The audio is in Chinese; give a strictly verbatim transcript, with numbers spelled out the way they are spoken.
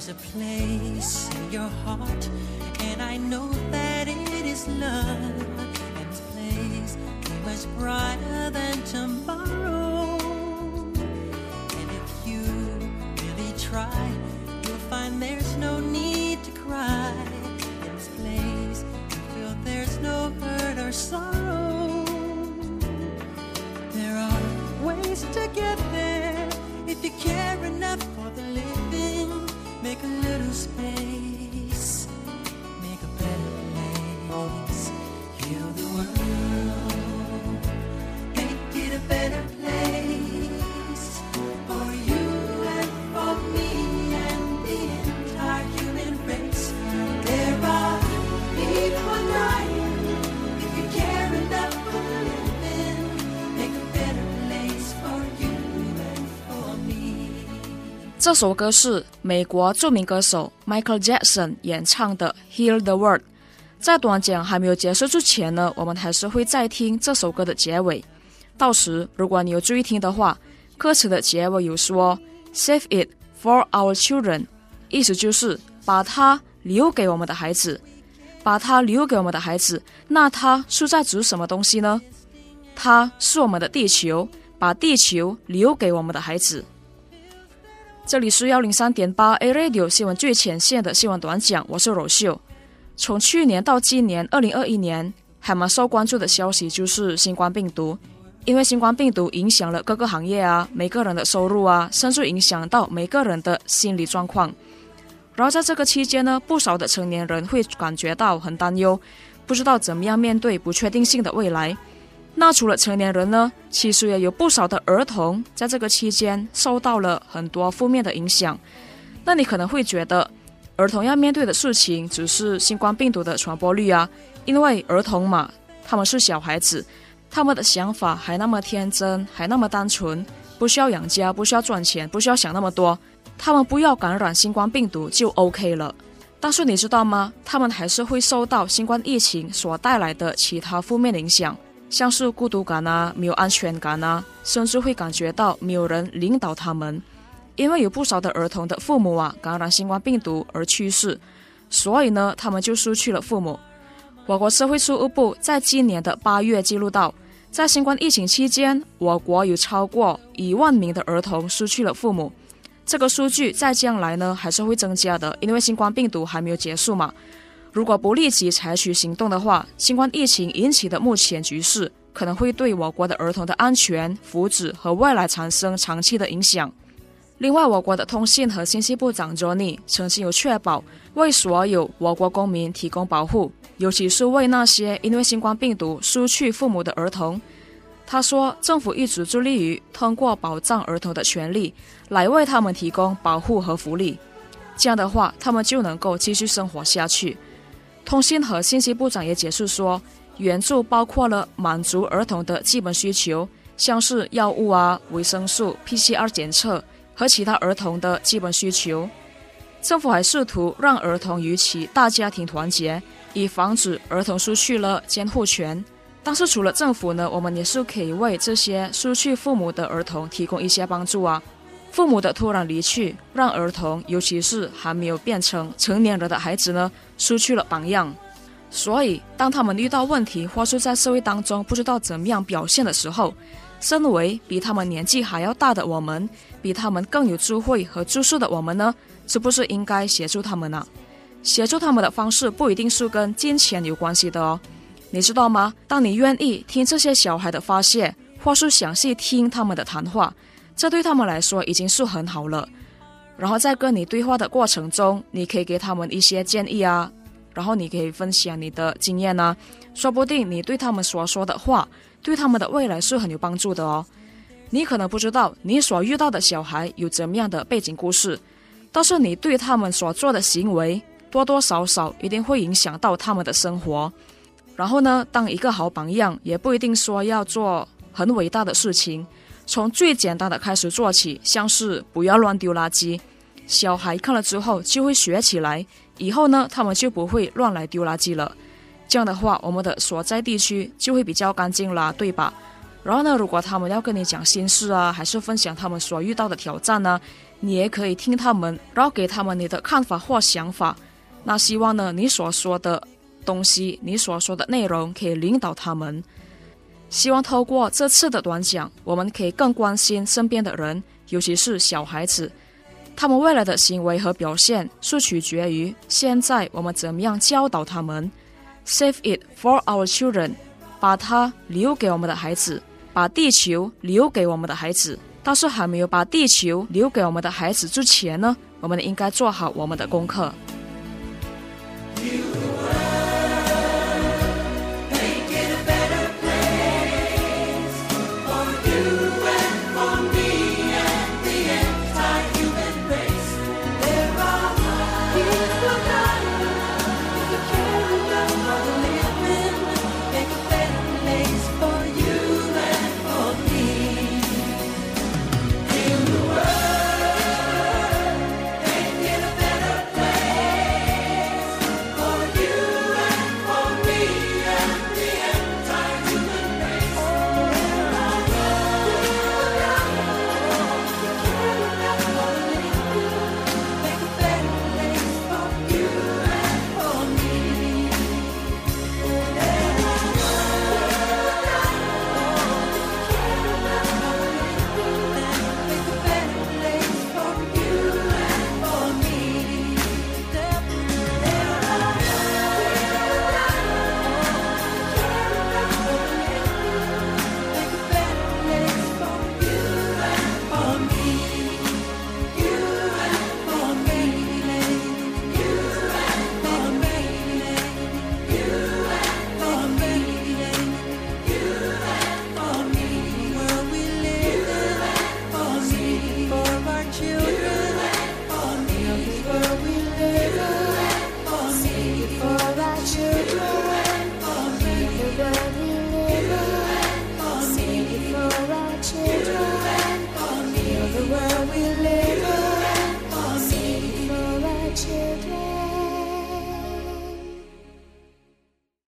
a place in your heart, and I know that it is love, and this place is much brighter than tomorrow. And if you really try, you'll find there's no need to cry. In this place you feel there's no hurt or sorrow. There are ways to get there if you care enough for the living. Make a little space, make a better place. Heal the world, make it a better place for you and for me and the entire human race. There are people dying. If you care enough for the living, make a better place for you and for me. 这首歌是美国著名歌手 Michael Jackson 演唱的 Heal the World。 在短讲还没有结束之前呢，我们还是会再听这首歌的结尾。到时如果你有注意听的话，歌词的结尾有说 Save it for our children， 意思就是把它留给我们的孩子。把它留给我们的孩子，那它是在指什么东西呢？它是我们的地球，把地球留给我们的孩子。这里是 一零三点八 A Radio 新闻最前线的新闻短讲，我是柔秀。从去年到今年二零二一年，还蛮受关注的消息就是新冠病毒。因为新冠病毒影响了各个行业啊，每个人的收入啊，甚至影响到每个人的心理状况。然后在这个期间呢，不少的成年人会感觉到很担忧，不知道怎么样面对不确定性的未来。那除了成年人呢，其实也有不少的儿童在这个期间受到了很多负面的影响。那你可能会觉得儿童要面对的事情只是新冠病毒的传播率啊，因为儿童嘛，他们是小孩子，他们的想法还那么天真，还那么单纯，不需要养家，不需要赚钱，不需要想那么多，他们不要感染新冠病毒就 OK 了。但是你知道吗？他们还是会受到新冠疫情所带来的其他负面的影响，像是孤独感啊，没有安全感啊，甚至会感觉到没有人领导他们。因为有不少的儿童的父母啊感染新冠病毒而去世，所以呢，他们就失去了父母。我国社会事务部在今年的八月记录到，在新冠疫情期间，我国有超过一万名的儿童失去了父母。这个数据在将来呢还是会增加的，因为新冠病毒还没有结束嘛。如果不立即采取行动的话，新冠疫情引起的目前局势可能会对我国的儿童的安全、福祉和未来产生长期的影响。另外，我国的通信和信息部长 Johnny 曾经有确保为所有我国公民提供保护，尤其是为那些因为新冠病毒失去父母的儿童。他说，政府一直致力于通过保障儿童的权利来为他们提供保护和福利，这样的话他们就能够继续生活下去。通信和信息部长也解释说，援助包括了满足儿童的基本需求，像是药物啊、维生素、P C R 检测和其他儿童的基本需求。政府还试图让儿童与其大家庭团结，以防止儿童失去了监护权。但是除了政府呢，我们也是可以为这些失去父母的儿童提供一些帮助啊。父母的突然离去，让儿童，尤其是还没有变成成年人的孩子呢，失去了榜样。所以当他们遇到问题或是在社会当中不知道怎么样表现的时候，身为比他们年纪还要大的我们，比他们更有智慧和知识的我们呢，是不是应该协助他们呢？协助他们的方式不一定是跟金钱有关系的哦。你知道吗？当你愿意听这些小孩的发泄，或是详细听他们的谈话，这对他们来说已经是很好了。然后在跟你对话的过程中，你可以给他们一些建议啊，然后你可以分享你的经验啊，说不定你对他们所说的话对他们的未来是很有帮助的哦。你可能不知道你所遇到的小孩有怎么样的背景故事，但是你对他们所做的行为多多少少一定会影响到他们的生活。然后呢，当一个好榜样也不一定说要做很伟大的事情，从最简单的开始做起，像是不要乱丢垃圾，小孩看了之后就会学起来，以后呢他们就不会乱来丢垃圾了。这样的话，我们的所在地区就会比较干净啦，对吧？ 然后呢，如果他们要跟你讲心事啊，还是分享他们所遇到的挑战呢，你也可以听他们，然后给他们你的看法或想法。那希望呢，你所说的东西，你所说的内容可以领导他们。希望透过这次的短讲，我们可以更关心身边的人，尤其是小孩子，他们未来的行为和表现是取决于现在我们怎么样教导他们。 Save it for our children， 把它留给我们的孩子，把地球留给我们的孩子。但是还没有把地球留给我们的孩子之前呢，我们应该做好我们的功课。